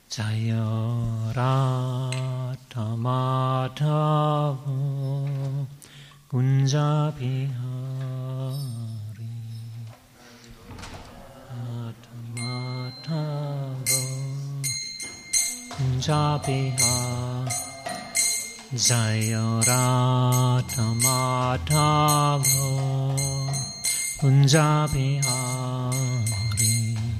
Jaya Radha Madhava Kunja Bihari Radha Madhava Kunja Bihari Jaya Radha Madhava Kunja Bihari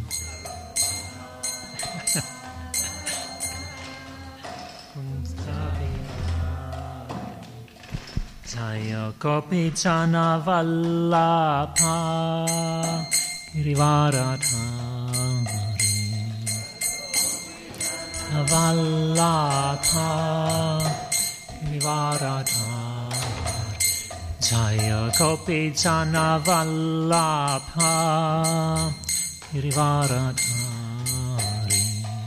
Jaya Gopi Jana Vallabha Girivaradhari Vallabha Girivaradhari Jaya Gopi Jana Vallabha Girivaradhari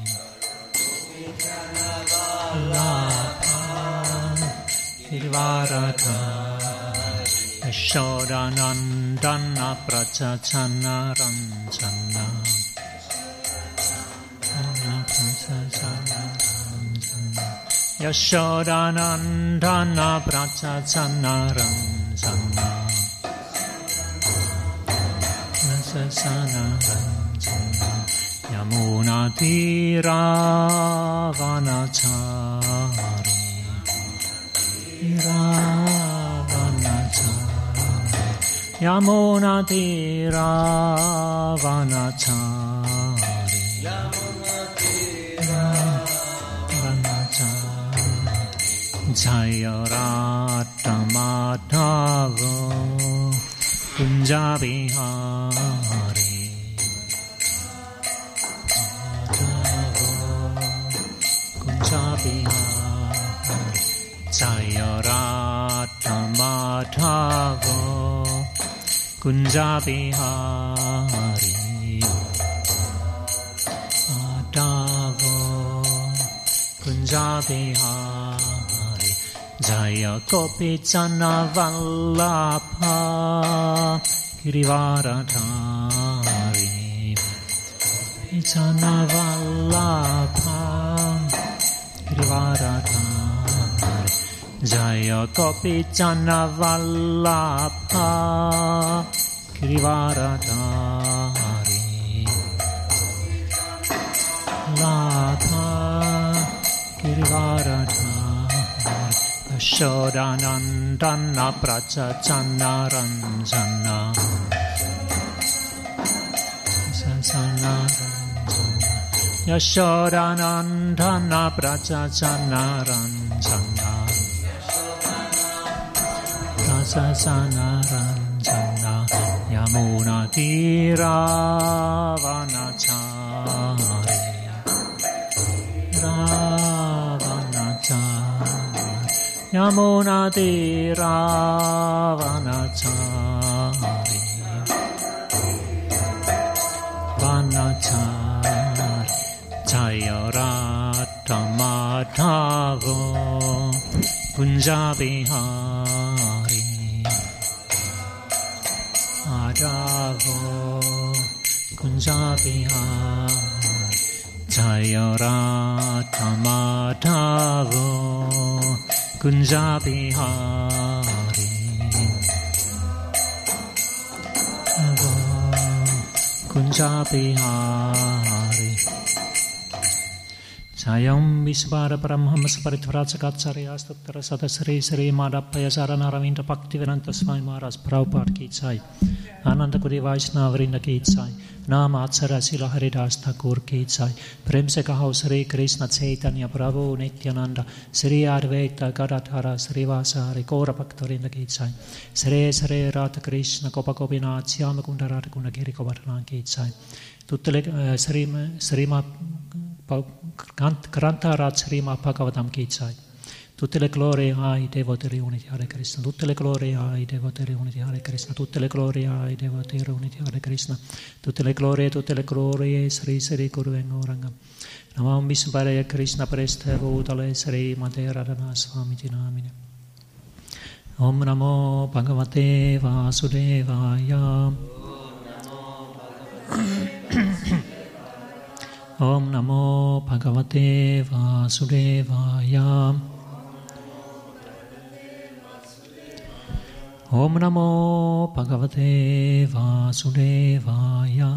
Girivaradhari Yashodanandana Prachachana Ranjana Yashodanandana Prachachana Ranjana Yamuna Tira Vanachari Yamuna Tira Vanachari Jaya Radha Madhava Kunja Bihari Kunja Bihari Jaya Radha Madhava Kunja Bihari Madhava Kunja Bihari Jaya Gopi Jana Vallabha Girivaradhari Jana Vallabha Girivaradhari Jaya Gopi Jana Vallabha Girivaradhari Vallabha Girivaradhari Yashodanandana Prachachana Ranjana Yashodanandana Prachachana Ranjana Prachachana Ranjana Yamuna Tira Vanachari Yamuna Tira Vanachari Vanachari Jaya Radha Madhava Kunja Bihari Madhava Kunja Bihari Jaya Radha Madhava Kunja Bihari Kunja Bihari Jayam Visvara Paramhamsa Paritvracakacharya Astattara Sadasri Sri Madhappaya Saranaravindra Bhaktivedanta Swami Maharaj Prabhupada Ki Jai Ananda Kuri Vaishnava Vrinda Ki Jai Naam Atsara Sila Haridas Thakur Ki Jai Prem se kaho Sri Krishna Chaitanya Prabhu Nityananda Sri Advaita Gadadhara Sri Vasari Gaura Bhaktarinda Ki Jai Sri Sri Radha Krishna Gopa Gopinath Syama Kunda Radha Kunda Giri Govardhana Ki Jai tutte le Srimad Grantaraj Srimad Bhagavatam Ki Jai tutte le glorie ai devoti riuniti Hare Krishna tutte le glorie ai devoti riuniti Hare Krishna tutte le glorie ai devoti riuniti Hare Krishna tutte le glorie Sri Sri Guru Engoranga Namam Vishvaraya Krishna Prestha Bhutale Sri Mate Radhana Swami Namine Om Namo Bhagavate Vasudevaya Om Namo Bhagavate Vasudevaya. Om Namo Bhagavate Vasudevaya.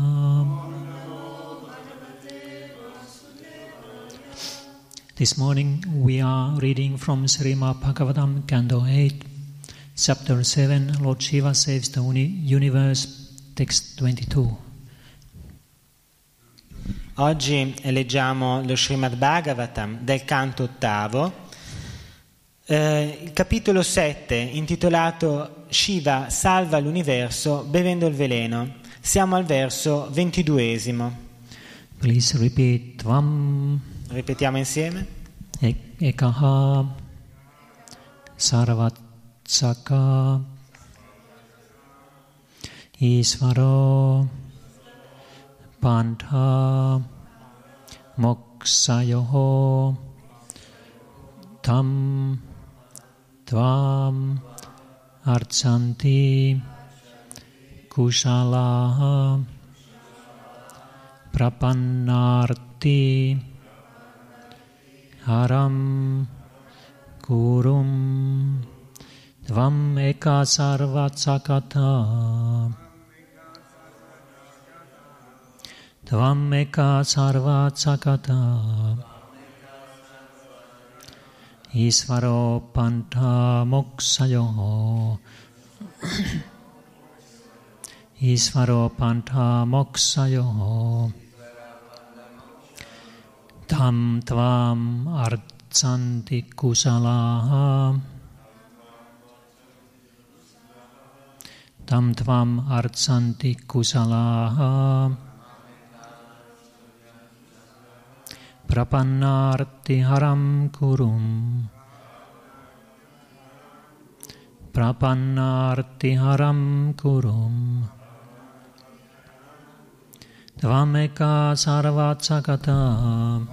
This morning we are reading from Srimad Bhagavatam, Canto 8, Chapter 7, Lord Shiva Saves the Universe, Text 22. Oggi leggiamo lo Srimad Bhagavatam del canto ottavo, il capitolo 7, intitolato Shiva salva l'universo bevendo il veleno. Siamo al verso 22esimo. Please repeat. Tvam. Ripetiamo insieme. Ekaha Sarvatsaka Isvaro Pantha Moksayoho Tam Tvam Archanti Kushalaha Prapannarti Haram Kurum Tvam Eka Sarvatsakata Tvam Eka Sarvatsakata Isvaro Pantha Moksayoho Isvaro Pantha Moksayoho Tam Tvam Archanti Kusalaha Tam Tvam Archanti Kusalaha Prapannarti Haram Kurum Prapannarti Haram Kurum Tvameka Sarvatsakata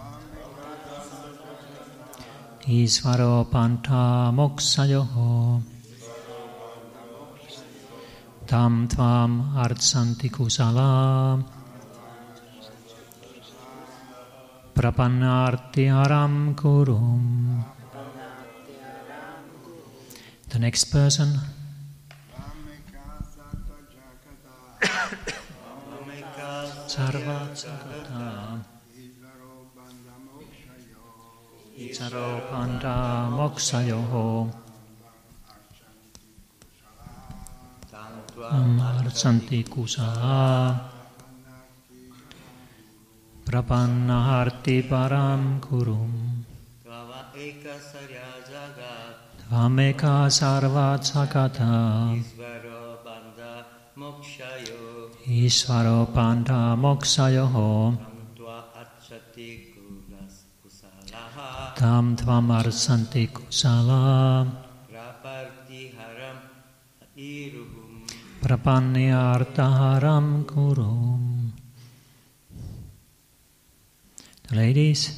Isvaro Pantha Moksayoho Tam Tvam Archanti Kusala Prapannarti Haram Kurum. The next person. Sarvatsakata Isvaro Pantha Moksayoho Archanti Kusala Prapannarti Param Kurum Tvameka Sarvatsakata Isvaro Pantha Moksayoho Tam Tvam Archanti Kusala Prapannartaharam Kurum. The ladies.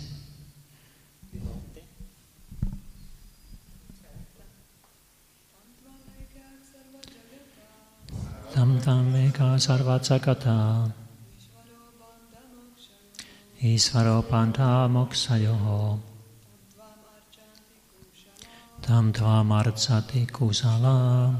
Tam Tam Eka Sarvatsakata Isvaro Pantha Moksayoho Tam Tvam Archanti Kusala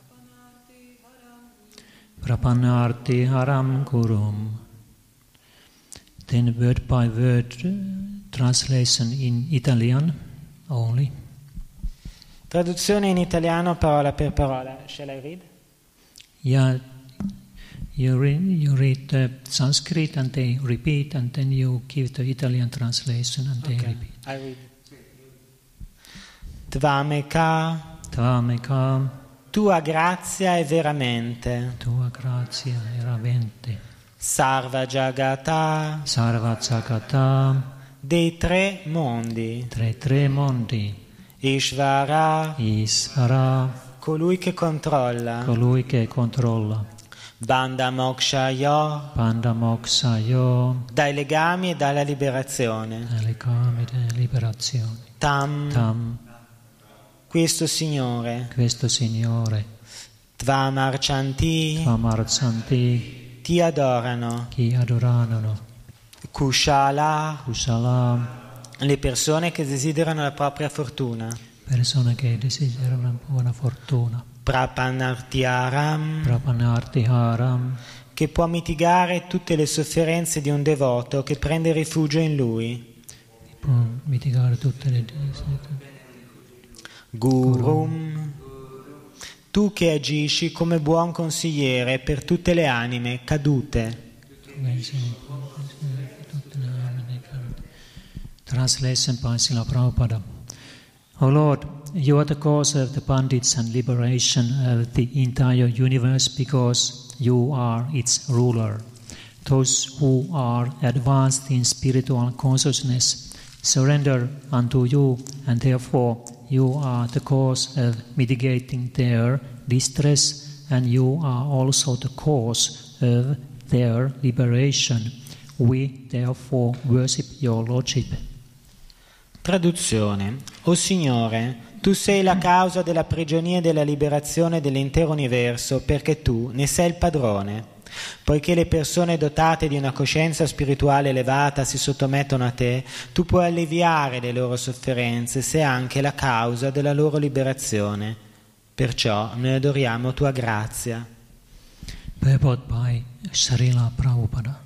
Prapannarti Haram Kurum. Then word by word translation in Italian only. Traduzione in italiano parola per parola. Shall I read? Yeah, you read the Sanskrit and they repeat, and then you give the Italian translation and they repeat. I read. Tvameka. Tvameka. Tua grazia è veramente. Tua grazia è veramente. Sarva Jagata. Sarvatsakata. Dei tre mondi. Tre mondi. Ishvara. Colui che controlla. Bandha Mokshayo. Dai legami e dalla liberazione. Tam. Questo Signore. Tvam Archanti. Ti adorano. Kushala, kusala, le persone che desiderano la propria fortuna. persone che desiderano buona fortuna. Prapanartyaram, Prapanartiharam, che può mitigare tutte le sofferenze di un devoto che prende rifugio in lui. può mitigare tutte le Gurum, tu che agisci come buon consigliere per tutte le anime cadute. Translation by Srila Prabhupada. O Lord, you are the cause of the bandits and liberation of the entire universe because you are its ruler. Those who are advanced in spiritual consciousness surrender unto you, and therefore you are the cause of mitigating their distress, and you are also the cause of their liberation. We therefore worship your Lordship. Traduzione. O Signore, tu sei la causa della prigionia e della liberazione dell'intero universo perché tu ne sei il padrone. Poiché le persone dotate di una coscienza spirituale elevata si sottomettono a te, tu puoi alleviare le loro sofferenze, sei anche la causa della loro liberazione. Perciò noi adoriamo tua grazia. Purport by Srila Prabhupada.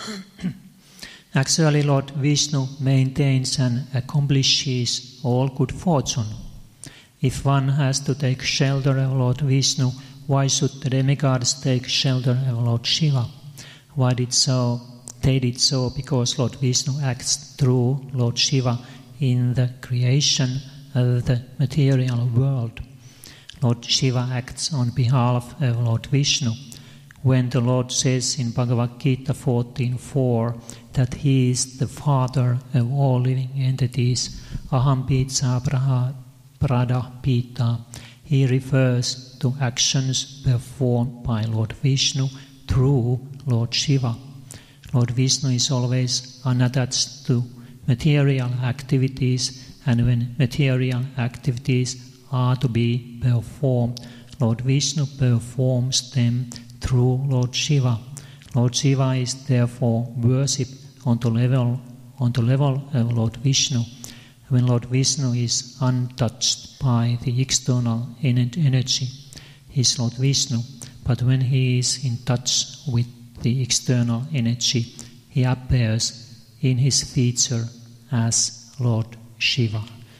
Actually, Lord Vishnu maintains and accomplishes all good fortune. If one has to take shelter of Lord Vishnu, why should the demigods take shelter of Lord Shiva? Why did so? They did so because Lord Vishnu acts through Lord Shiva in the creation of the material world. Lord Shiva acts on behalf of Lord Vishnu. When the Lord says in Bhagavad Gita 14.4 that He is the Father of all living entities, Aham Pitsa Prada Pita, He refers to actions performed by Lord Vishnu through Lord Shiva. Lord Vishnu is always unattached to material activities, and when material activities are to be performed, Lord Vishnu performs them through Lord Shiva. Lord Shiva is therefore worshipped on the level of Lord Vishnu. When Lord Vishnu is untouched by the external energy, he is Lord Vishnu. But when he is in touch with the external energy, he appears in his feature as Lord Shiva.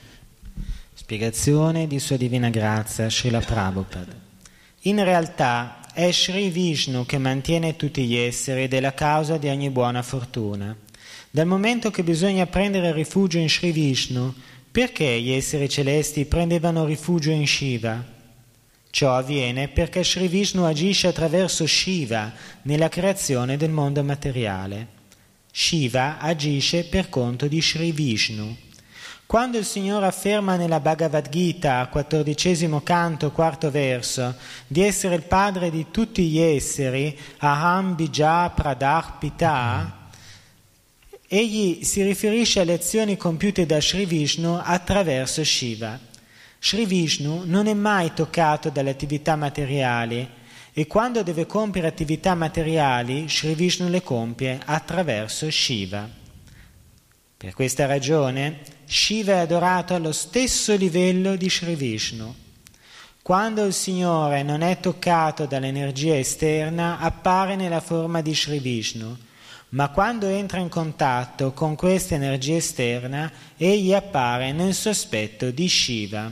Spiegazione di Sua Divina Grazia, Srila Prabhupada. In realtà è Sri Vishnu che mantiene tutti gli esseri ed è la causa di ogni buona fortuna. Dal momento che bisogna prendere rifugio in Sri Vishnu, perché gli esseri celesti prendevano rifugio in Shiva? Ciò avviene perché Sri Vishnu agisce attraverso Shiva nella creazione del mondo materiale. Shiva agisce per conto di Sri Vishnu. Quando il Signore afferma nella Bhagavad Gita, 14° canto, 4° verso, di essere il padre di tutti gli esseri, Aham Bija Pradah Pita, egli si riferisce alle azioni compiute da Sri Vishnu attraverso Shiva. Sri Vishnu non è mai toccato dalle attività materiali e quando deve compiere attività materiali, Sri Vishnu le compie attraverso Shiva. Per questa ragione, Shiva è adorato allo stesso livello di Sri Vishnu. Quando il Signore non è toccato dall'energia esterna, appare nella forma di Sri Vishnu, ma quando entra in contatto con questa energia esterna, egli appare nel sospetto di Shiva.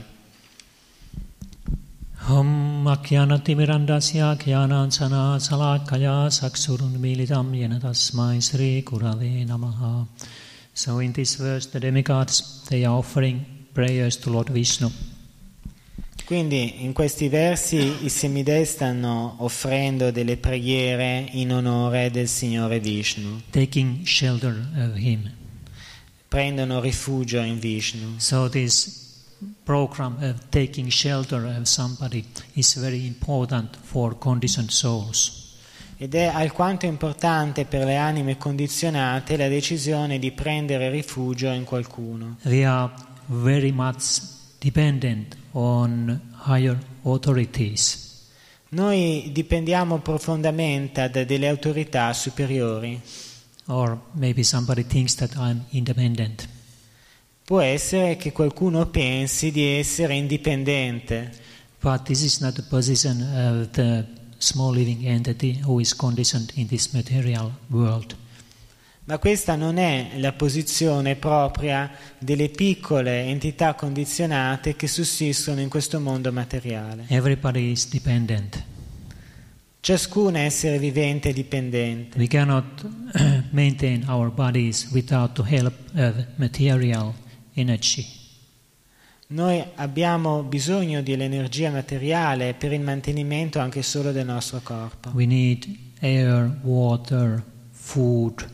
Om Akyanati Mirandasya Kyanansana Salakaya Saksurun Militam Yena Tasmai Sri Kurave Namaha. So in this verse the demigods, they are offering prayers to Lord Vishnu. Quindi in questi versi i semidei stanno offrendo delle preghiere in onore del Signore Vishnu. Taking shelter of him. Prendono rifugio in Vishnu. So this program of taking shelter of somebody is very important for conditioned souls. Ed è alquanto importante per le anime condizionate la decisione di prendere rifugio in qualcuno. We are very much dependent on higher authorities. Noi dipendiamo profondamente da delle autorità superiori. Or maybe somebody thinks that I'm independent. Può essere che qualcuno pensi di essere indipendente, But this is not the position of the small living entity who is conditioned in this material world. ma questa non è la posizione propria delle piccole entità condizionate che sussistono in questo mondo materiale. Everybody is dependent. Ciascun essere vivente è dipendente. We cannot maintain our bodies without the help of material energy. Noi abbiamo bisogno dell'energia materiale per il mantenimento anche solo del nostro corpo. We need air, water, food,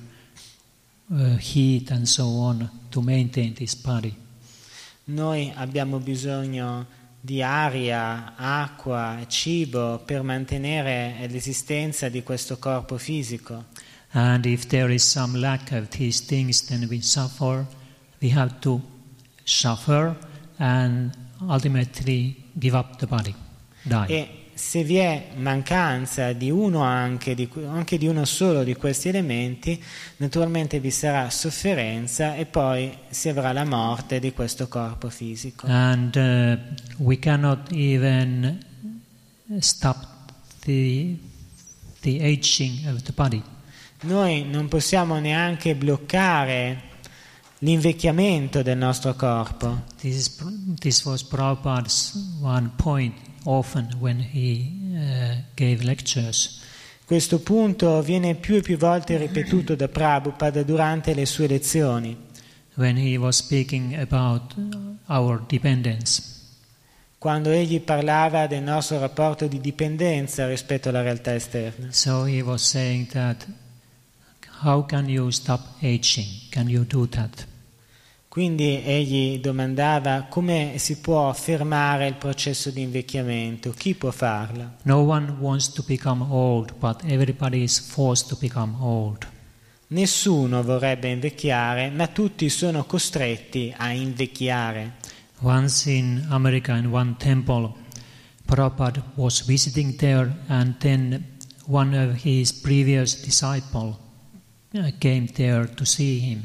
heat and so on to maintain this body. Noi abbiamo bisogno di aria, acqua, cibo per mantenere l'esistenza di questo corpo fisico. And if there is some lack of these things, then we suffer. We have to suffer and ultimately give up the body, die. E se vi è mancanza di uno anche di uno solo di questi elementi, naturalmente vi sarà sofferenza e poi si avrà la morte di questo corpo fisico. And we cannot even stop the aging of the body. Noi non possiamo neanche bloccare l'invecchiamento del nostro corpo. This was Prabhupada's one point often when he gave lectures. Questo punto viene più e più volte ripetuto da Prabhupada durante le sue lezioni. When he was speaking about our dependence. Quando egli parlava del nostro rapporto di dipendenza rispetto alla realtà esterna. So he was saying that, how can you stop aging? Can you do that? Quindi egli domandava come si può fermare il processo di invecchiamento, chi può farlo? No one wants to become old, but everybody is forced to become old. Nessuno vorrebbe invecchiare, ma tutti sono costretti a invecchiare. Once in America, in one temple, Prabhupada was visiting there, and then one of his previous disciples came there to see him.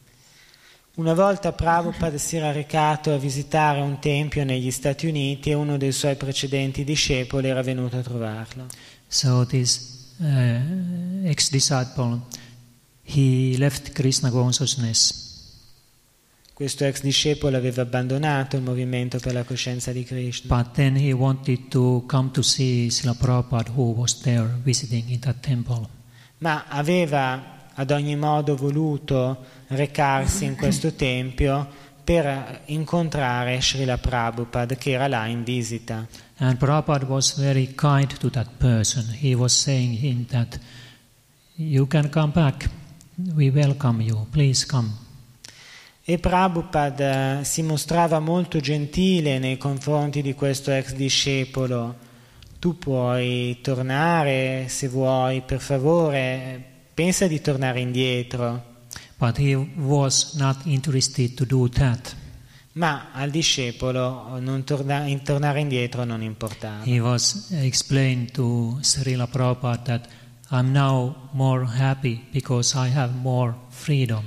Una volta Prabhupada si era recato a visitare un tempio negli Stati Uniti e uno dei suoi precedenti discepoli era venuto a trovarlo. So this ex-disciple, he left Krishna consciousness. Questo ex discepolo aveva abbandonato il movimento per la coscienza di Krishna. But then he wanted to come to see Srila Prabhupada, who was there visiting in that temple. Ma aveva ad ogni modo voluto recarsi in questo tempio per incontrare Srila Prabhupada che era là in visita. And Prabhupada was very kind to that person. He was saying him that you can come back, we welcome you, please come. E Prabhupada si mostrava molto gentile nei confronti di questo ex discepolo. Tu puoi tornare se vuoi, per favore, pensa di tornare indietro. But he was not interested to do that. Ma al discepolo tornare indietro non importava. He was explained to Srila Prabhupada that I'm now more happy because I have more freedom.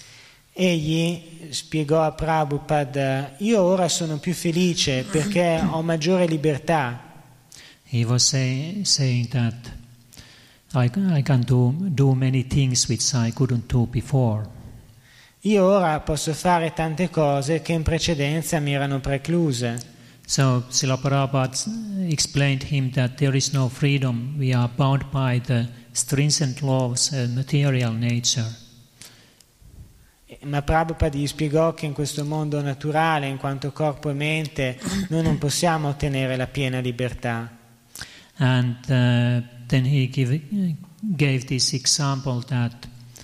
Egli spiegò a Prabhupada, io ora sono più felice perché ho maggiore libertà. He was saying that I can do many things which I couldn't do before. Io ora posso fare tante cose che in precedenza mi erano precluse. So Srila Prabhupada explained him that there is no freedom. We are bound by the stringent laws of material nature. Ma Prabhupada gli spiegò che in questo mondo naturale, in quanto corpo e mente, noi non possiamo ottenere la piena libertà. And then he gave this example that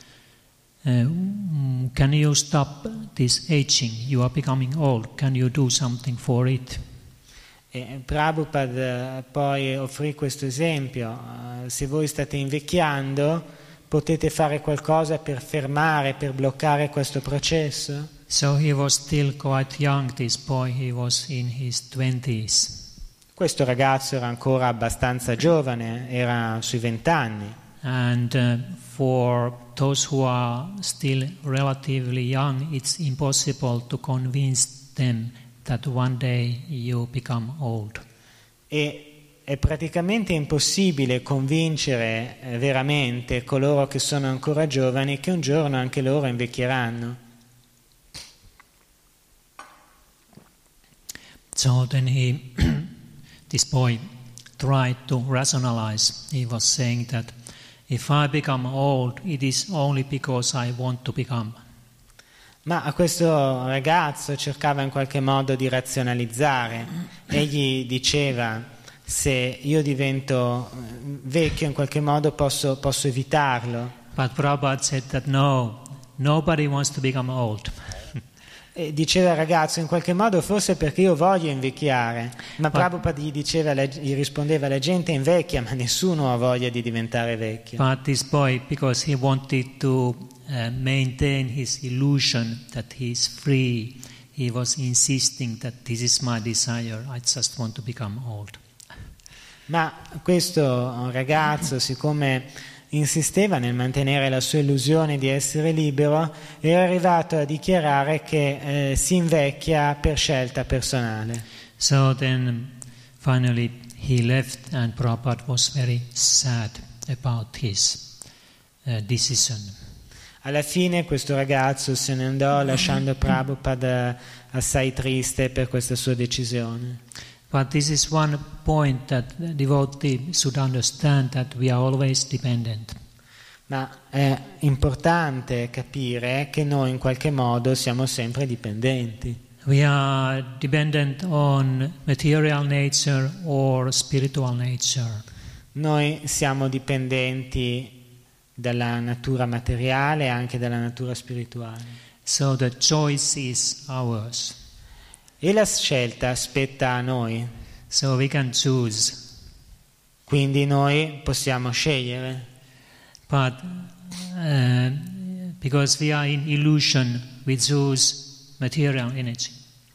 can you stop this aging? You are becoming old. Can you do something for it? E Prabhupada poi offrì questo esempio. Se voi state invecchiando, potete fare qualcosa per fermare, per bloccare questo processo? So he was still quite young, this boy. He was in his 20s. Questo ragazzo era ancora abbastanza giovane, era sui 20 anni. And for those who are still relatively young, it's impossible to convince them that one day you become old. E è praticamente impossibile convincere veramente coloro che sono ancora giovani che un giorno anche loro invecchieranno. So then this boy tried to rationalize. He was saying that if I become old, it is only because I want to become. Ma a questo ragazzo cercava in qualche modo di razionalizzare. Egli diceva: se io divento vecchio in qualche modo posso evitarlo. But Prabhupada said that no, nobody wants to become old. E diceva al ragazzo: in qualche modo forse perché io voglio invecchiare. Ma Prabhupada gli rispondeva: la gente invecchia ma nessuno ha voglia di diventare vecchio. But this boy, because he wanted to maintain his illusion that he is free, he was insisting that this is my desire, I just want to become old. Ma questo ragazzo, siccome insisteva nel mantenere la sua illusione di essere libero, era arrivato a dichiarare che si invecchia per scelta personale. So then finally he left, and Prabhupada was very sad about his decision. Alla fine questo ragazzo se ne andò lasciando Prabhupada assai triste per questa sua decisione. But this is one point that devotee should understand, that we are always dependent. Ma è importante capire che noi in qualche modo siamo sempre dipendenti. We are dependent on material nature or spiritual nature. Noi siamo dipendenti dalla natura materiale e anche dalla natura spirituale. So the choice is ours. E la scelta spetta a noi. So we can choose. Quindi noi possiamo scegliere. But because we are in illusion, we choose material energy.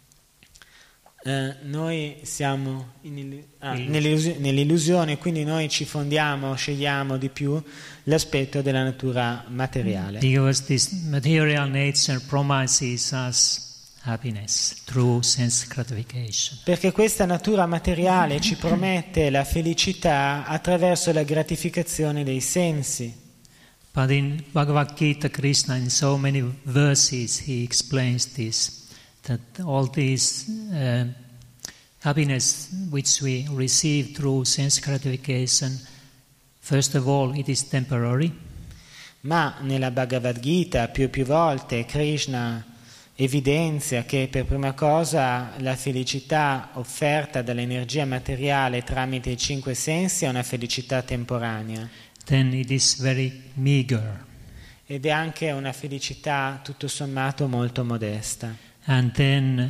Noi siamo nell'illusione, quindi noi ci fondiamo, scegliamo di più l'aspetto della natura materiale. Because this material nature promises us happiness through sense gratification. Perché questa natura materiale ci promette la felicità attraverso la gratificazione dei sensi. But in Bhagavad Gita, Krishna, in so many verses, he explains this, that all this happiness which we receive through sense gratification, first of all, it is temporary. Ma nella Bhagavad Gita più e più volte Krishna evidenzia che per prima cosa la felicità offerta dall'energia materiale tramite i 5 sensi è una felicità temporanea. Then it is very meager. Ed è anche una felicità tutto sommato molto modesta. And then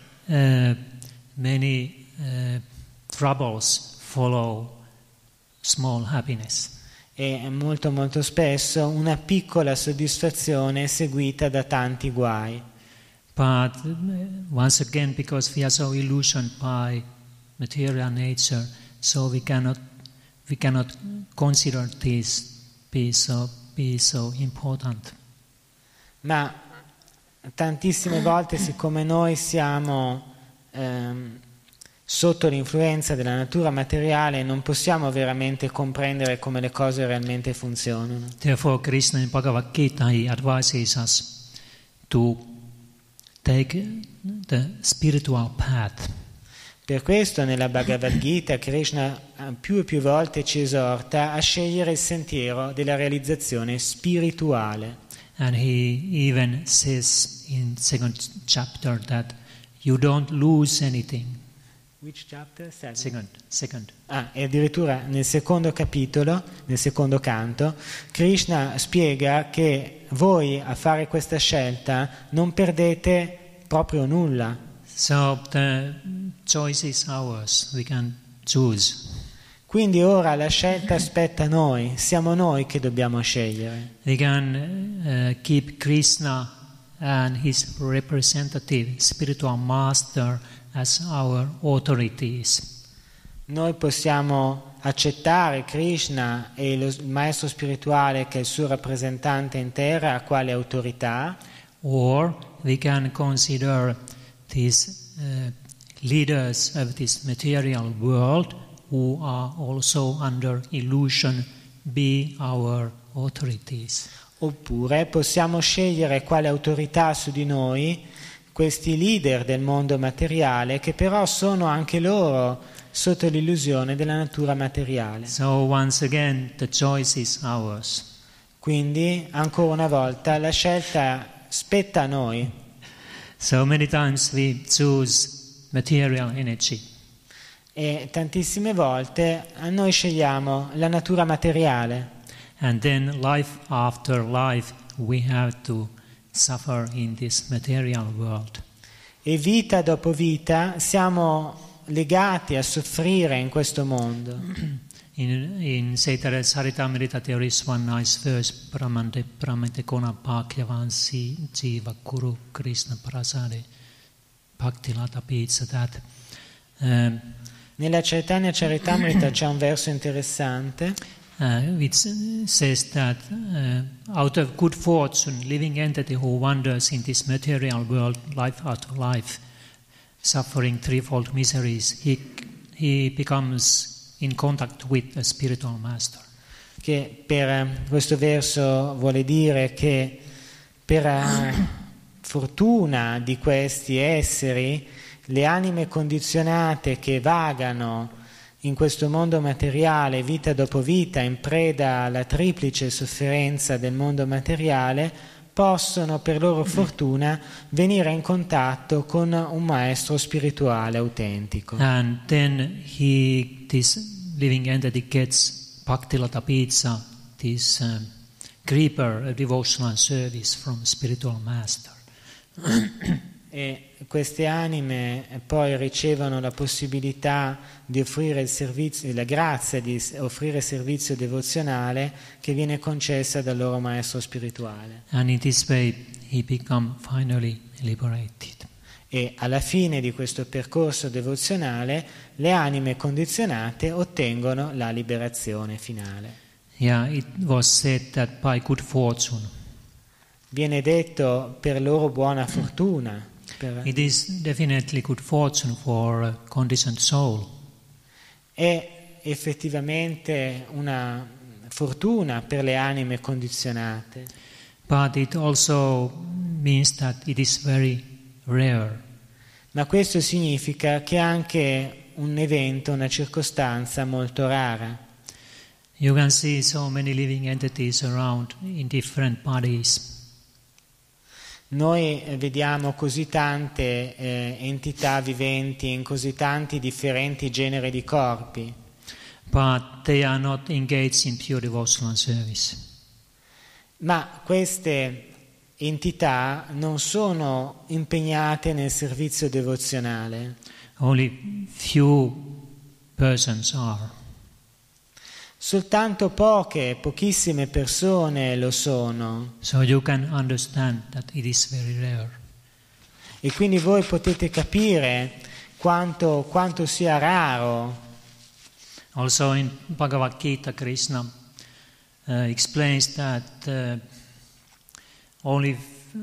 many troubles follow small happiness. E molto molto spesso una piccola soddisfazione è seguita da tanti guai. But once again, because we are so illusioned by material nature, so we cannot consider this be so important. Ma tantissime volte, siccome noi siamo sotto l'influenza della natura materiale, non possiamo veramente comprendere come le cose realmente funzionano. Therefore, Krishna in Bhagavad Gita, he advises us to take the spiritual path. Per questo nella Bhagavad Gita Krishna più e più volte ci esorta a scegliere il sentiero della realizzazione spirituale. And he even says in 2nd chapter that you don't lose anything. Which chapter? Second. E addirittura nel secondo capitolo, nel secondo canto, Krishna spiega che voi a fare questa scelta non perdete proprio nulla. So the choice is ours. We can choose. Quindi ora la scelta spetta a noi, siamo noi che dobbiamo scegliere. We can keep Krishna and his representative, spiritual master, as our authorities. noi possiamo accettare Krishna e il maestro spirituale che è il suo rappresentante in terra quale autorità, or we can consider these leaders of this material world who are also under illusion be our authorities. oppure possiamo scegliere quale autorità su di noi questi leader del mondo materiale che però sono anche loro sotto l'illusione della natura materiale. So once again the choice is ours. Quindi ancora una volta la scelta spetta a noi. So many times we choose material energy. E tantissime volte noi scegliamo la natura materiale. And then life after life we have to suffer in this material world. E vita dopo vita siamo legati a soffrire in questo mondo. In Chaitanya Charitamrita there is one nice verse, Pramante Kona Bhagyavansi Jiva Kuru Krishna Prasade Bhaktilata Pizza, that Nella Chaitanya Charitamrita c'è un verso interessante which says that out of good fortune, living entity who wanders in this material world, life after life, suffering threefold miseries, he becomes in contact with a spiritual master. che per questo verso vuole dire che per fortuna di questi esseri, le anime condizionate che vagano in questo mondo materiale vita dopo vita in preda alla triplice sofferenza del mondo materiale possono per loro fortuna venire in contatto con un maestro spirituale autentico. And then this living entity gets Bhaktilata Pizza, this creeper of devotional service from spiritual master. E queste anime poi ricevono la possibilità di offrire il servizio, la grazia di offrire servizio devozionale che viene concessa dal loro maestro spirituale. And in this way he become finally liberated. E alla fine di questo percorso devozionale le anime condizionate ottengono la liberazione finale. Yeah, it was said that by good fortune. Viene detto per loro buona fortuna. It is definitely good fortune for a conditioned soul. È effettivamente una fortuna per le anime condizionate. But it also means that it is very rare. Ma questo significa che è anche un evento, una circostanza molto rara. You can see so many living entities around in different bodies. Noi vediamo così tante entità viventi in così tanti differenti generi di corpi. But they are not engaged in pure devotional service. Ma queste entità non sono impegnate nel servizio devozionale. Only few persons are. Soltanto pochissime persone lo sono. So you can understand that it is very rare. E quindi voi potete capire quanto sia raro. Also in Bhagavad Gita, Krishna explains that only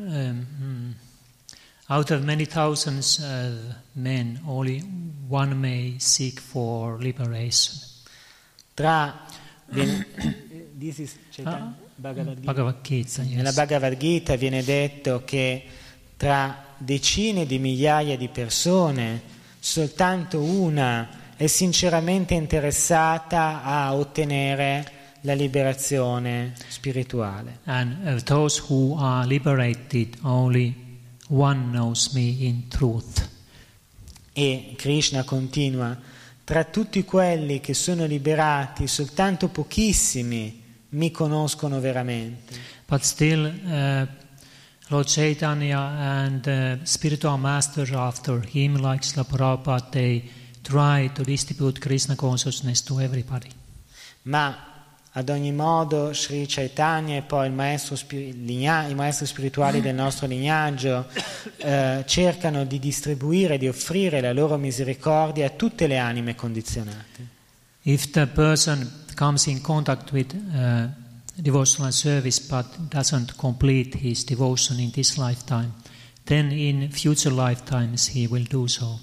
out of many thousands of men, only one may seek for liberation. This is Bhagavad Gita. Bhagavad Gita, yes. Nella Bhagavad Gita viene detto che tra decine di migliaia di persone soltanto una è sinceramente interessata a ottenere la liberazione spirituale. And of those who are liberated, only one knows me in truth. E Krishna continua: tra tutti quelli che sono liberati, soltanto pochissimi mi conoscono veramente. But still, Lord Chaitanya and spiritual masters after him, like Srila Prabhupada, they try to distribute Krishna consciousness to everybody. Ma Ad ogni modo Sri Chaitanya e poi i maestri spirituali del nostro lignaggio cercano di distribuire, di offrire la loro misericordia a tutte le anime condizionate. If the person comes in contact with devotional service but doesn't complete his devotion in this lifetime, then in future lifetimes he will do so.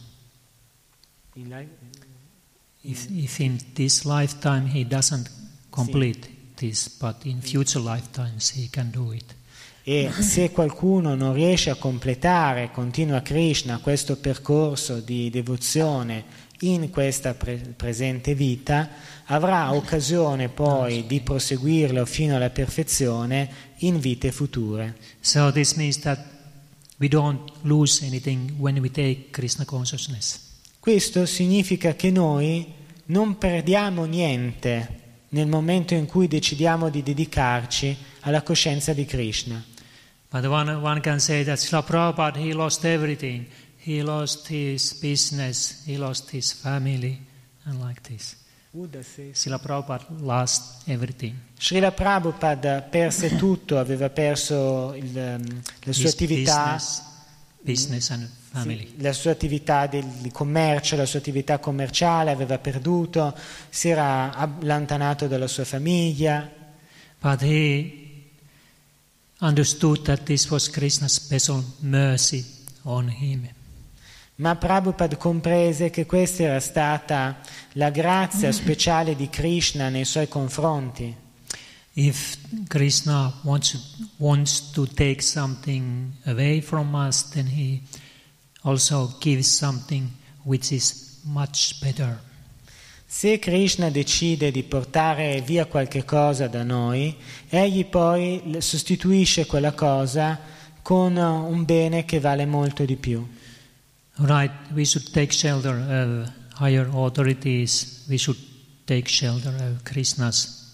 If in this lifetime he doesn't complete this, but in future lifetimes he can do it. E se qualcuno non riesce a completare, continua Krishna, questo percorso di devozione in questa presente vita, avrà occasione poi di proseguirlo fino alla perfezione in vite future. So this means that we don't lose anything when we take Krishna consciousness. Questo significa che noi non perdiamo niente nel momento in cui decidiamo di dedicarci alla coscienza di Krishna. But one can say that Srila Prabhupada, he lost everything. He lost his business, he lost his family, and like this. Srila Prabhupada lost everything. Srila Prabhupada perse tutto, aveva perso la sua attività, business and family. Sì, la sua attività di commercio, la sua attività commerciale aveva perduto, si era allontanato dalla sua famiglia. But he understood that this was Krishna's special mercy on him. Ma Prabhupada comprese che questa era stata la grazia speciale di Krishna nei suoi confronti. If Krishna wants to take something away from us, then he also gives something which is much better. Se Krishna decide di portare via qualche cosa da noi, egli poi sostituisce quella cosa con un bene che vale molto di più. Right, we should take shelter of higher authorities. We should take shelter of Krishna's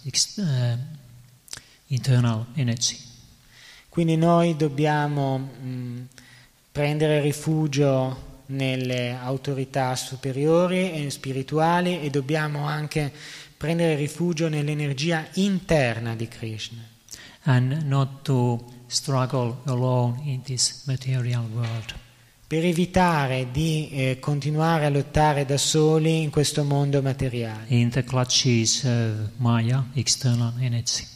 internal energy. Quindi noi dobbiamo prendere rifugio nelle autorità superiori e spirituali e dobbiamo anche prendere rifugio nell'energia interna di Krishna. And not to struggle alone in this material world. Per evitare di continuare a lottare da soli in questo mondo materiale. In the clutches of Maya, external energy.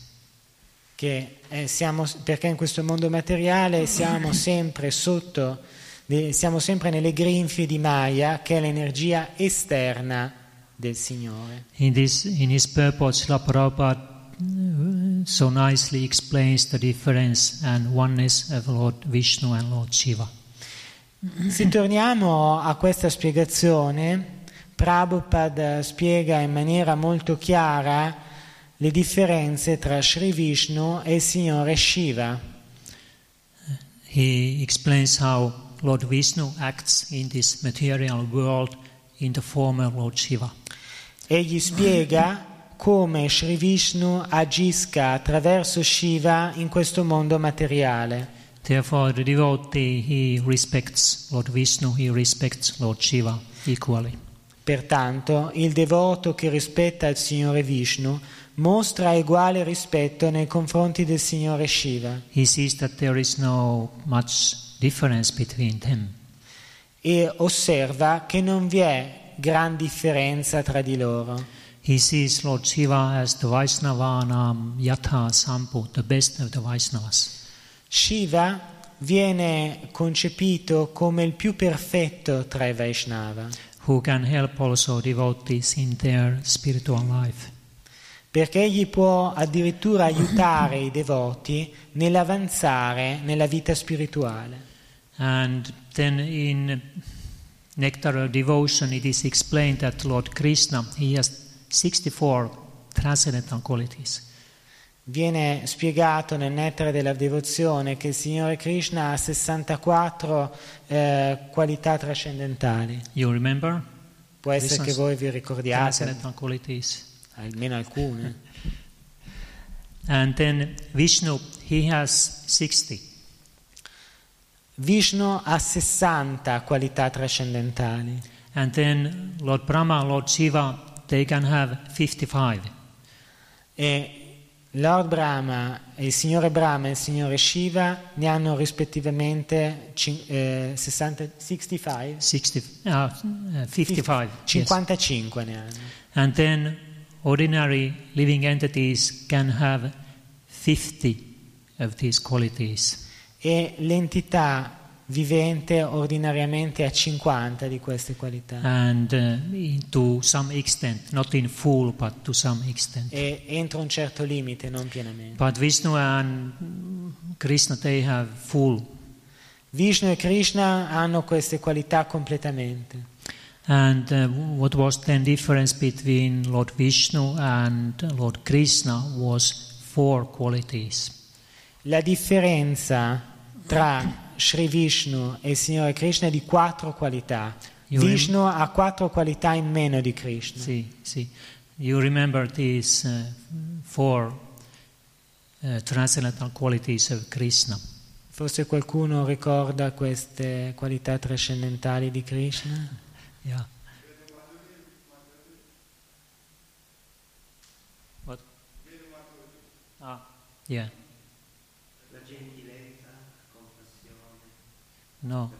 Perché in questo mondo materiale siamo sempre nelle grinfie di Maya, che è l'energia esterna del Signore. In his purport, Srila Prabhupada so nicely explains the difference and oneness of Lord Vishnu and Lord Shiva. Se torniamo a questa spiegazione, Prabhupada spiega in maniera molto chiara le differenze tra Sri Vishnu e il Signore Shiva. He explains how Lord Vishnu acts in this material world in the form of Lord Shiva. Egli spiega come Sri Vishnu agisca attraverso Shiva in questo mondo materiale. Therefore, the devotee, he respects Lord Vishnu, he respects Lord Shiva equally. Pertanto, il devoto che rispetta il Signore Vishnu mostra uguale rispetto nei confronti del Signore Shiva. He sees that there is no much difference between them. E osserva che non vi è gran differenza tra di loro. He sees Lord Shiva as the Vaisnavanam Yatha Sampu, the best of the Vaisnavas. Shiva viene concepito come il più perfetto tra i Vaishnava. Who can help also devotees in their spiritual life. Perché egli può addirittura aiutare i devoti nell'avanzare nella vita spirituale. And then in Nectar of Devotion it is explained that Lord Krishna, he has 64 transcendental qualities. Viene spiegato nel Nettare della Devozione che il Signore Krishna ha 64 qualità trascendentali. You remember? Può essere che voi vi ricordiate transcendental qualities. Almeno alcune. And then Vishnu, he has 60. Vishnu ha 60 qualità trascendentali. And then Lord Brahma, Lord Shiva, they can have 55. E Lord Brahma, il signore Brahma e il signore Shiva ne hanno rispettivamente 65? 55. 55 ne hanno. And then ordinary living entities can have 50 of these qualities. E l'entità vivente ordinariamente ha 50 di queste qualità. And to some extent, not in full, but to some extent. E entro un certo limite, non pienamente. But Vishnu and Krishna, they have full. Vishnu e Krishna hanno queste qualità completamente. And what was then difference between Lord Vishnu and Lord Krishna was 4 qualities. La differenza tra Sri Vishnu e il Signore Krishna è di 4 qualità. Vishnu ha 4 qualità in meno di Krishna. Sì. You remember these 4 transcendental qualities of Krishna. Forse qualcuno ricorda queste qualità trascendentali di Krishna? Yeah. What? Yeah. La gentilezza, compassione. No.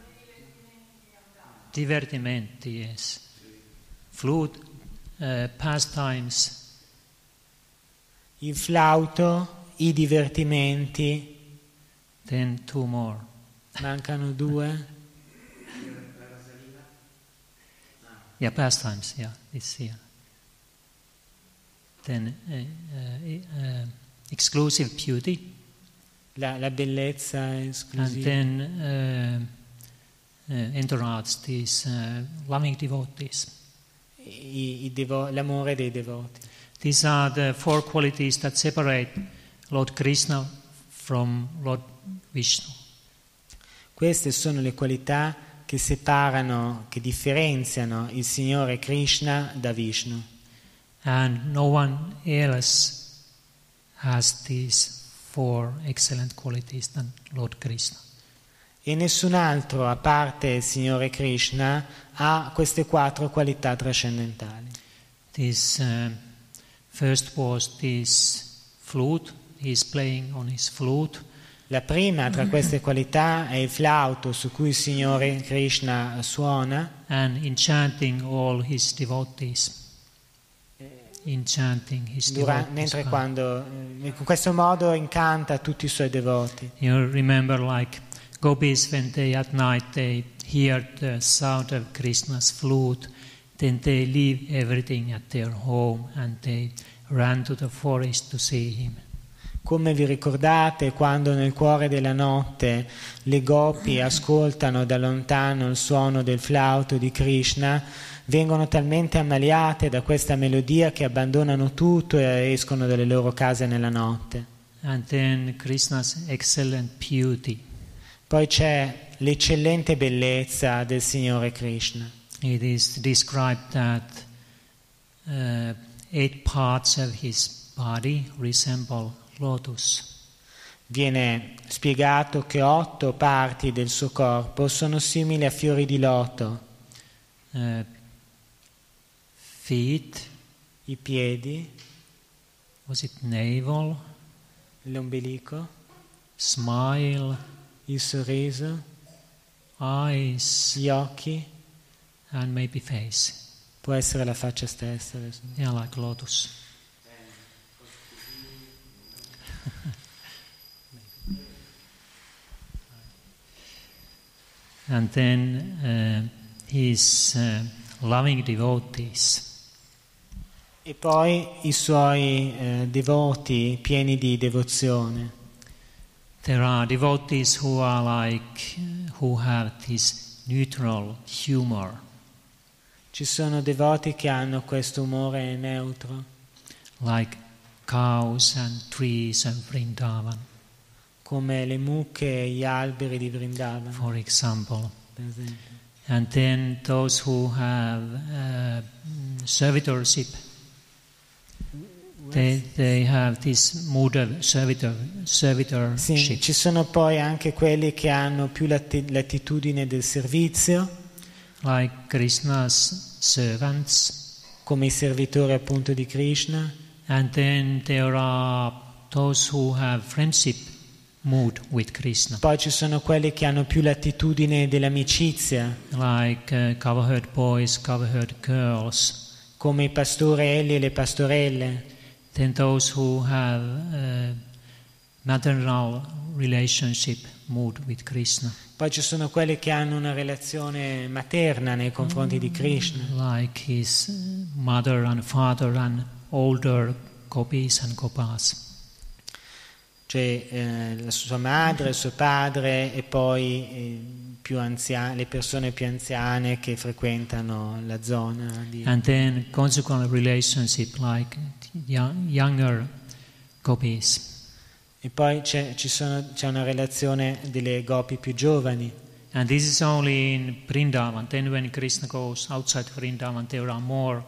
Divertimenti, yes. Flute, pastimes. Il flauto, i divertimenti. Then 2 more. Mancano 2. Yeah, pastimes, yeah, it's here. Then exclusive beauty. La bellezza And esclusiva. then entourage, these loving devotees. L'amore dei devoti. These are the 4 qualities that separate Lord Krishna from Lord Vishnu. Queste sono le qualità che separano, che differenziano il Signore Krishna da Vishnu. And no one else has these 4 excellent qualities than Lord Krishna. E nessun altro, a parte il Signore Krishna, ha queste 4 qualità trascendentali. This first was this flute. He's playing on his flute. La prima tra queste qualità è il flauto su cui il Signore Krishna suona. And enchanting all his devotees. Mentre quando in questo modo incanta tutti i suoi devoti. You remember, like gopis, when they at night they hear the sound of Krishna's flute, then they leave everything at their home and they run to the forest to see him. Come vi ricordate quando nel cuore della notte le gopi ascoltano da lontano il suono del flauto di Krishna, vengono talmente ammaliate da questa melodia che abbandonano tutto e escono dalle loro case nella notte. And then Krishna's excellent beauty. Poi c'è l'eccellente bellezza del Signore Krishna. It is described that 8 parts of his body resemble lotus. Viene spiegato che 8 parti del suo corpo sono simili a fiori di loto. Feet, I piedi, was it navel, l'ombelico, smile, il sorriso, eyes, gli occhi, and maybe face. può essere la faccia stessa. Yeah, like lotus. And then his loving devotees. E poi i suoi devoti pieni di devozione. There are devotees who have this neutral humor. Ci sono devoti che hanno questo umore neutro, Like cows and trees of Vrindavan, come le mucche e gli alberi di Vrindavan, for example. per esempio. And then those who have servitorship, they have this mood of servitorship. Sì, ci sono poi anche quelli che hanno più l'attitudine del servizio, Like Krishna's servants, come i servitori appunto di Krishna, And then there are those who have friendship mood with Krishna, Poi ci sono quelli che hanno più l'attitudine dell'amicizia, like cow-herd boys, cow-herd girls. come i pastorelli e le pastorelle. Then those who have maternal relationship mood with Krishna, Poi ci sono quelli che hanno una relazione materna nei confronti di Krishna, like his mother and father and older gopis and gopas. cioè la sua madre, il suo padre e poi le persone più anziane che frequentano la zona. And then consequent relationship like younger gopis. E poi c'è una relazione delle gopi più giovani. And this is only in Vrindavan. Then when Krishna goes outside Vrindavan, there are more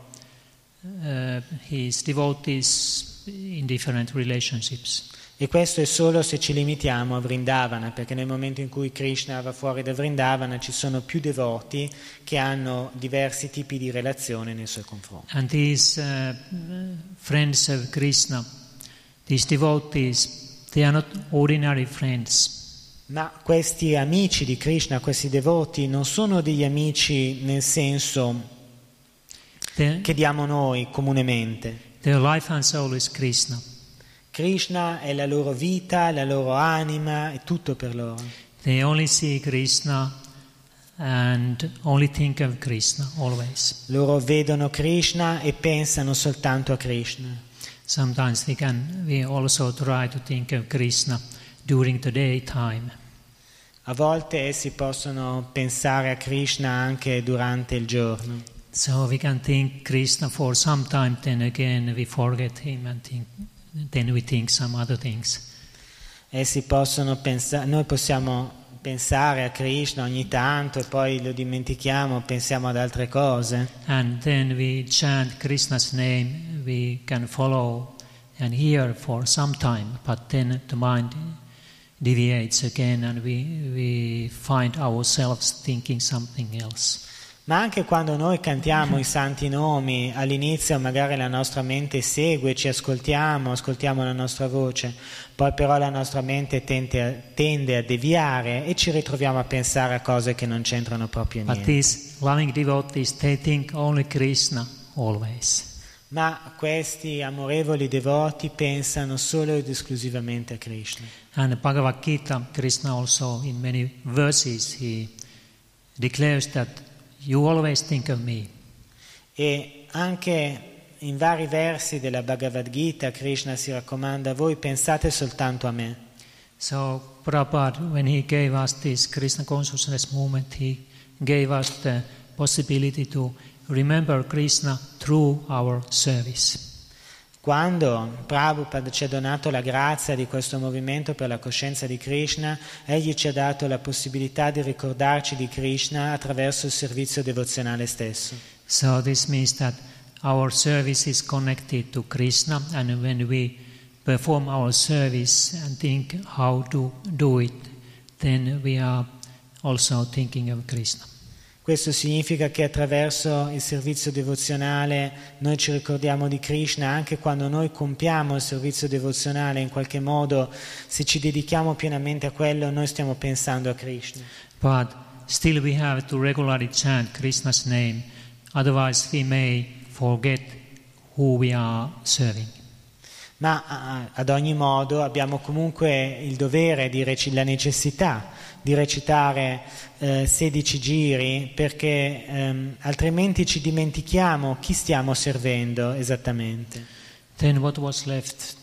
his devotees in different relationships. E questo è solo se ci limitiamo a Vrindavana, perché nel momento in cui Krishna va fuori da Vrindavana ci sono più devoti che hanno diversi tipi di relazione nei suoi confronti. And these friends of Krishna, these devotees, they are not ordinary friends. Ma questi amici di Krishna, questi devoti, non sono degli amici nel senso che diamo noi comunemente. Their life and soul is Krishna. Krishna è la loro vita, la loro anima, è tutto per loro. They only see Krishna and only think of Krishna always. Loro vedono Krishna e pensano soltanto a Krishna. Sometimes we also try to think of Krishna during the daytime. A volte essi possono pensare a Krishna anche durante il giorno. So we can think Krishna for some time, then again we forget him and then we think some other things. Essi possono pensare, noi possiamo pensare a Krishna ogni tanto e poi lo dimentichiamo, pensiamo ad altre cose. And then we chant Krishna's name, we can follow and hear for some time, but then the mind deviates again and we find ourselves thinking something else. Ma anche quando noi cantiamo i santi nomi, all'inizio magari la nostra mente segue, ci ascoltiamo la nostra voce, poi però la nostra mente tende a deviare e ci ritroviamo a pensare a cose che non c'entrano proprio But niente. these loving devotees, they think only Krishna always. Ma questi amorevoli devoti pensano solo ed esclusivamente a Krishna. And Bhagavad Gita, Krishna also in many verses, he declares that you always think of me. E anche in vari versi della Bhagavad Gita Krishna si raccomanda: voi pensate soltanto a me. So Prabhupada, when he gave us this Krishna consciousness movement, he gave us the possibility to remember Krishna through our service. Quando Prabhupada ci ha donato la grazia di questo movimento per la coscienza di Krishna, egli ci ha dato la possibilità di ricordarci di Krishna attraverso il servizio devozionale stesso. So this means that our service is connected to Krishna, and when we perform our service and think how to do it, then we are also thinking of Krishna. Questo significa che attraverso il servizio devozionale noi ci ricordiamo di Krishna, anche quando noi compiamo il servizio devozionale, in qualche modo, se ci dedichiamo pienamente a quello, noi stiamo pensando a Krishna. But still we have to regularly chant Krishna's name, otherwise we may forget who we are serving. Ma ad ogni modo abbiamo comunque il dovere, la necessità di recitare 16 giri, perché altrimenti ci dimentichiamo chi stiamo servendo esattamente. Then what was left?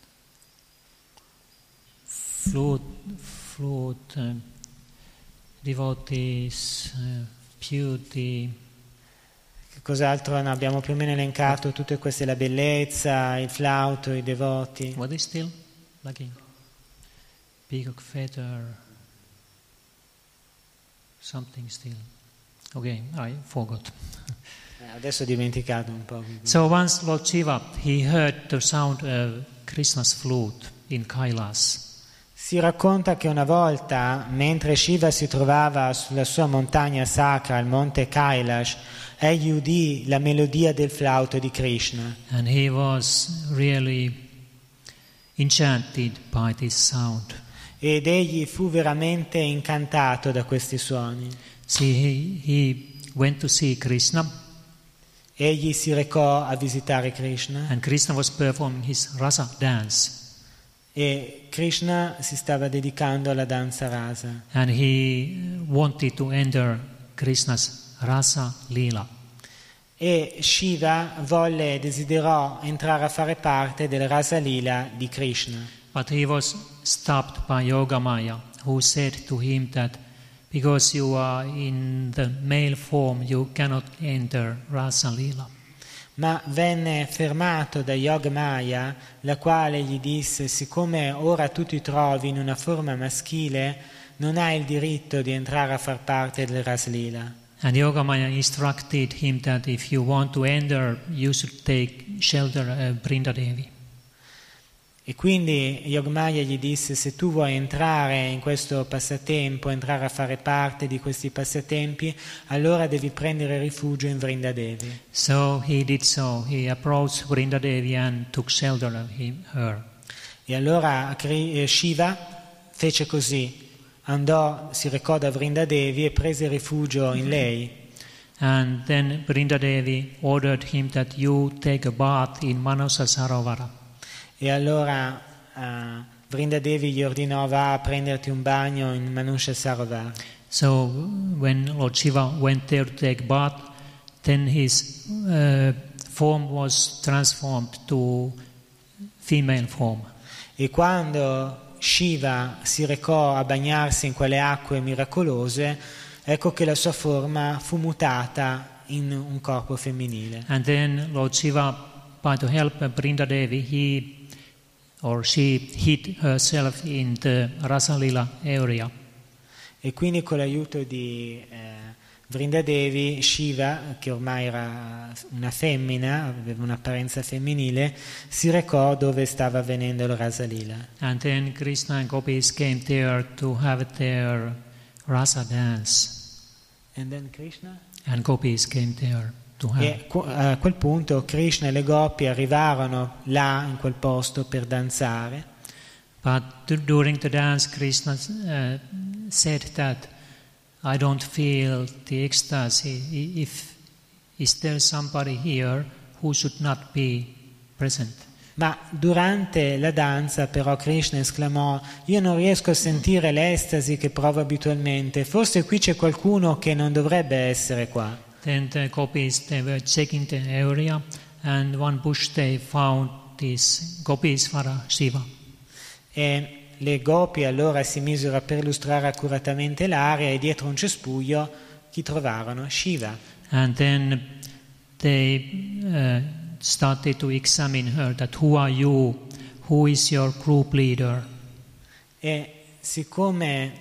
Flute, devotees, beauty. Cos'altro abbiamo più o meno elencato? Tutte queste, la bellezza, il flauto, i devoti. What is still lacking? Peacock feather. Something still. Okay, I forgot. Adesso ho dimenticato un po'. So once Lord Shiva, he heard the sound of Krishna's flute in Kailas. Si racconta che una volta, mentre Shiva si trovava sulla sua montagna sacra, il monte Kailash, egli udì la melodia del flauto di Krishna. And he was really enchanted by this sound. Ed egli fu veramente incantato da questi suoni. See, he went to see Krishna, Egli si recò a visitare Krishna and Krishna was performing his rasa dance. e Krishna si stava dedicando alla danza rasa. And he wanted to enter Krishna's rasa lila. E Shiva desiderò entrare a fare parte del rasa lila di Krishna. But he was stopped by Yogamaya, who said to him that because you are in the male form, you cannot enter rasa lila. Ma venne fermato da Yogamaya, la quale gli disse: siccome ora tu ti trovi in una forma maschile, non hai il diritto di entrare a far parte del Raslila. And Yogamaya instructed him that if you want to enter, you should take shelter of Brindadevi. E quindi Yogamaya gli disse: se tu vuoi entrare in questo passatempo, entrare a fare parte di questi passatempi, allora devi prendere rifugio in Vrindadevi. So he did so. He approached Brindadevi and took shelter of her. E allora Shiva fece così, si recò da Vrindadevi e prese rifugio in lei. And then Brindadevi ordered him that you take a bath in Manasa Sarovara. E allora Vrindadevi gli ordinò: va a prenderti un bagno in Manusha Sarovar. So when Lord Shiva went there to take bath, then his form was transformed to female form. E quando Shiva si recò a bagnarsi in quelle acque miracolose, ecco che la sua forma fu mutata in un corpo femminile. And then Lord Shiva, by the help of Brindadevi, she hid herself in the Rasalila area. E quindi con l'aiuto di Vrindadevi, Shiva, che ormai era una femmina, aveva un'apparenza femminile, si recò dove stava avvenendo il Rasalila. And then Krishna and gopis came there to have their rasa dance. And then Krishna? And gopis came there to have. E a quel punto Krishna e le gopi arrivarono là in quel posto per danzare. But during the dance, Krishna said that I don't feel the ecstasy. Is there somebody here who should not be present? Ma durante la danza però Krishna esclamò: io non riesco a sentire l'estasi che provo abitualmente, forse qui c'è qualcuno che non dovrebbe essere qua. Then the gopis, they were checking the area, and one bush they found this Gopishvara Shiva. E le gopi allora si misero a perlustrare accuratamente l'area e dietro un cespuglio chi trovarono? Shiva. And then they started to examine her, that who are you, who is your group leader? E siccome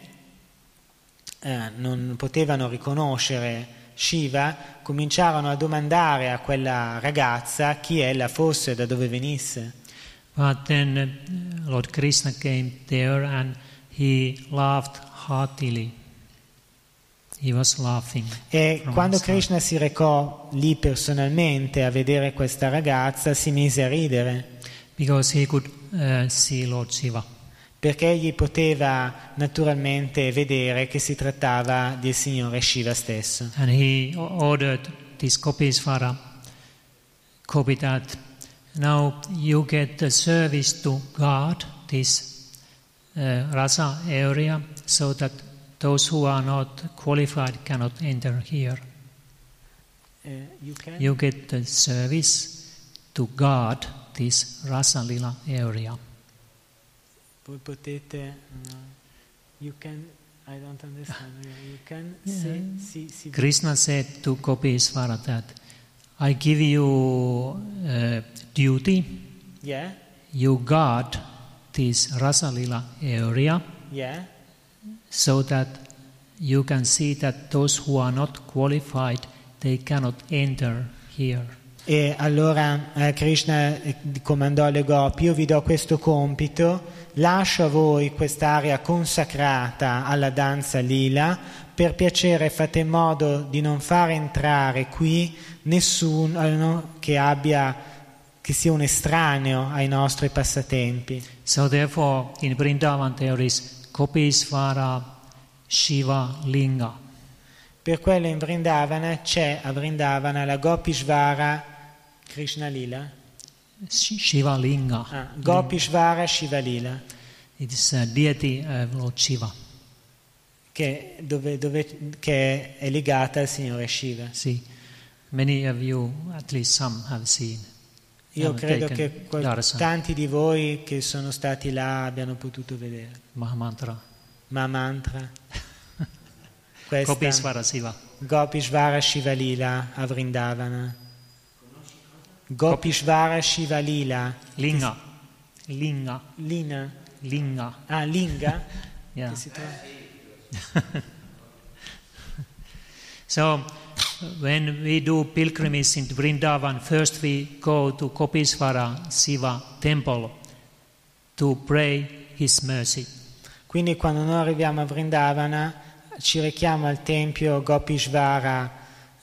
non potevano riconoscere Shiva, cominciarono a domandare a quella ragazza chi ella fosse, da dove venisse. But then Lord Krishna came there and he laughed heartily. He was laughing. E quando Krishna si recò lì personalmente a vedere questa ragazza, si mise a ridere. Because he could see Lord Shiva. Perché egli poteva naturalmente vedere che si trattava del Signore Shiva stesso. And he ordered this Gopishvara gopi that now you get the service to guard this rasa area so that those who are not qualified cannot enter here. You get the service to guard this Rasa Lila area. Voi potete, you can, I don't understand, you can see. Krishna said to Gopishvara that I give you duty, Yeah. you guard this Rasa Lila area, Yeah. so that you can see that those who are not qualified, they cannot enter here. E allora Krishna comandò alle gopi: io vi do questo compito, lascio a voi quest'area consacrata alla danza lila, per piacere fate in modo di non far entrare qui nessuno che sia un estraneo ai nostri passatempi. So therefore in Vrindavan there is Gopishvara Shiva Linga. Per quello in Vrindavana c'è a Vrindavana la Gopishvara Krishna Lila. Shiva Linga. Gopishvara Shiva Lila. It is a deity of Lord Shiva. Che è legata al Signore Shiva. See, many of you, at least some, have seen. Io credo che tanti di voi che sono stati là abbiano potuto vedere. Mahamantra. Mahamantra. Questa Gopishvara Shiva. Gopishvara Shiva Lila a Vrindavana. Gopishvara Shiva Lila. Linga. Linga. Lina. Linga. Ah, Linga? Yeah. Che si trova? So, when we do pilgrimage into Vrindavan, first we go to Gopishvara Shiva temple to pray His mercy. Quindi quando noi arriviamo a Vrindavana ci rechiamo al tempio Gopishvara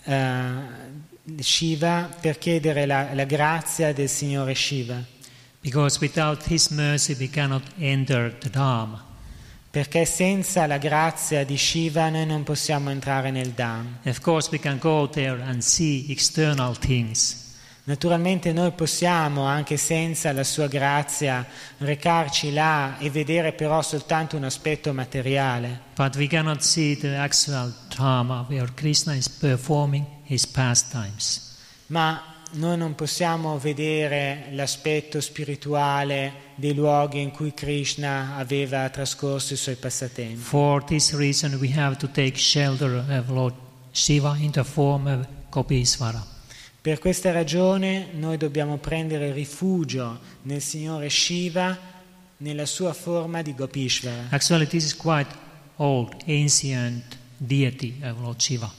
Shiva per chiedere la grazia del Signore Shiva. Because without His mercy we cannot enter the Dham. Perché senza la grazia di Shiva noi non possiamo entrare nel Dham. Of course we can go there and see external things. Naturalmente noi possiamo, anche senza la sua grazia, recarci là e vedere però soltanto un aspetto materiale. But we cannot see the actual Dham where Krishna is performing His pastimes. Ma noi non possiamo vedere l'aspetto spirituale dei luoghi in cui Krishna aveva trascorso i suoi passatempi. For this reason we have to take shelter of Lord Shiva in the form of Gopishvara. Per questa ragione noi dobbiamo prendere rifugio nel Signore Shiva nella sua forma di Gopishvara. Actually this is quite old, ancient deity of Lord Shiva.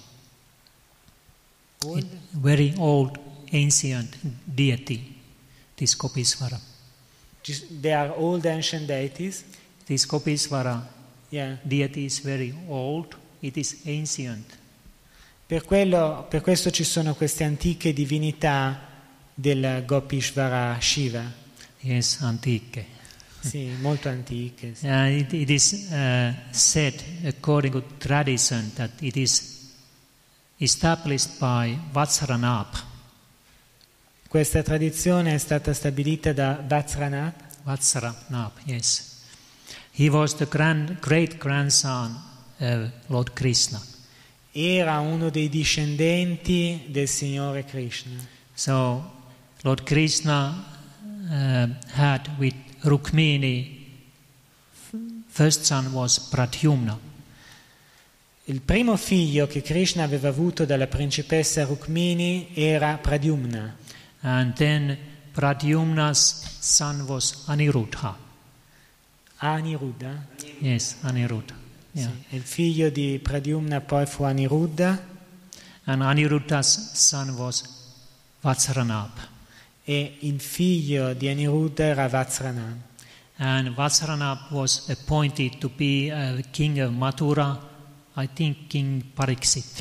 Very old, ancient deity, this Gopishvara. They are old ancient deities. This Gopishvara deity is very old, it is ancient. Per questo ci sono queste antiche divinità del Gopishvara Shiva. Yes, antiche. Sì, molto antiche. Sì. It is said, according to tradition, that it is established by Vajranabha. Questa tradizione è stata stabilita da Vajranabha. Vajranabha, yes. He was the great grandson of Lord Krishna. Era uno dei discendenti del Signore Krishna. So, Lord Krishna had with Rukmini, first son was Pradyumna. Il primo figlio che Krishna aveva avuto dalla principessa Rukmini era Pradyumna. And then Pradyumna's son was Aniruddha. Aniruddha? Yes, Aniruddha. Yeah. Sì. Il figlio di Pradyumna poi fu Aniruddha. And Aniruddha's son was Vajranabha. E il figlio di Aniruddha era Vajranabha. And Vajranabha was appointed to be a king of Mathura, I think King Pariksit.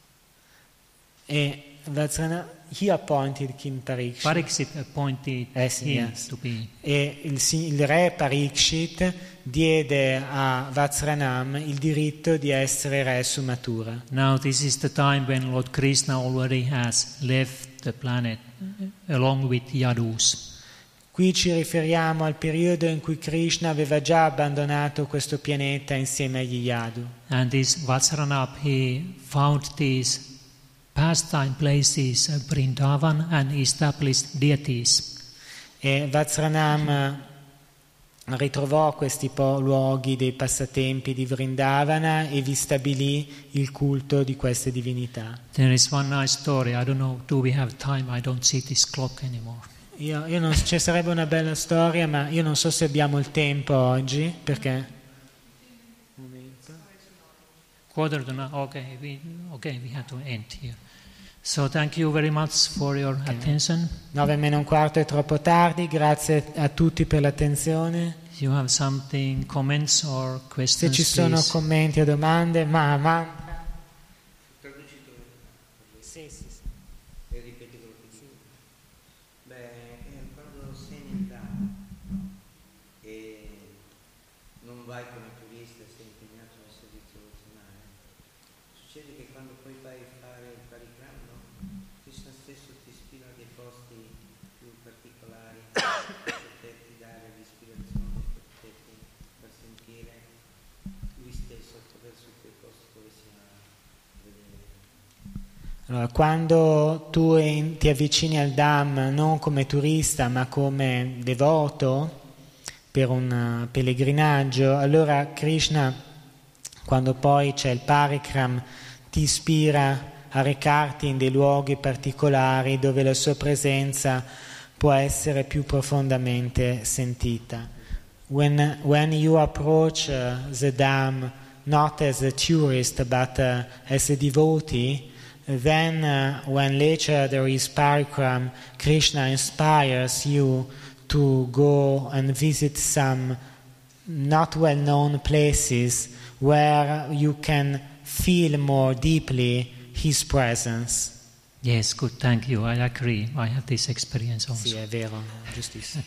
E Vajranabha, he appointed King Pariksit. Pariksit appointed him to be. E il re Pariksit diede a Vajranabha il diritto di essere re su Mathura. Now this is the time when Lord Krishna already has left the planet along with Yadus. Qui ci riferiamo al periodo in cui Krishna aveva già abbandonato questo pianeta insieme agli Yadu. And this Vajranabha, he found these pastime places of Vrindavan and established deities. E Vajranabha ritrovò questi luoghi dei passatempi di Vrindavana e vi stabilì il culto di queste divinità. There is one nice story. I don't know, do we have time? I don't see this clock anymore. Io non, ci sarebbe una bella storia, ma io non so se abbiamo il tempo oggi, perché... Quarter to nine. Okay, we have to end here. So thank you very much for your attention. 9:45 è troppo tardi, grazie a tutti per l'attenzione. If you have something, comments or Se questions, ci sono please. commenti o domande, ma... Sì. E ripeti quello che dico. Quando sei nel Dhamma e non vai come turista, sei impegnato nel servizio devozionale, succede che quando poi vai a fare il parikram, Krishna stesso ti ispira a dei posti più particolari per poterti dare l'ispirazione, per poterti far sentire lui stesso attraverso quei posti dove si va a vedere. Allora, quando tu ti avvicini al Dham non come turista ma come devoto per un pellegrinaggio, allora Krishna, quando poi c'è il parikram, ti ispira a recarti in dei luoghi particolari dove la sua presenza può essere più profondamente sentita. When you approach the Dham not as a tourist but as a devotee, then when later there is parikram, Krishna inspires you to go and visit some not well-known places where you can feel more deeply His presence. Yes, good, thank you. I agree. I have this experience also. Sì, è vero, giustissimo.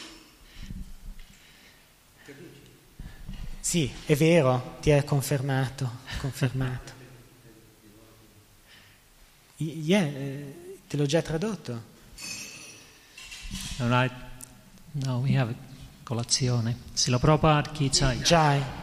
Sì, è vero, ti è confermato. Yeah, te l'ho già tradotto. All right. Now we have colazione. Srila Prabhupada ki jai. Jai.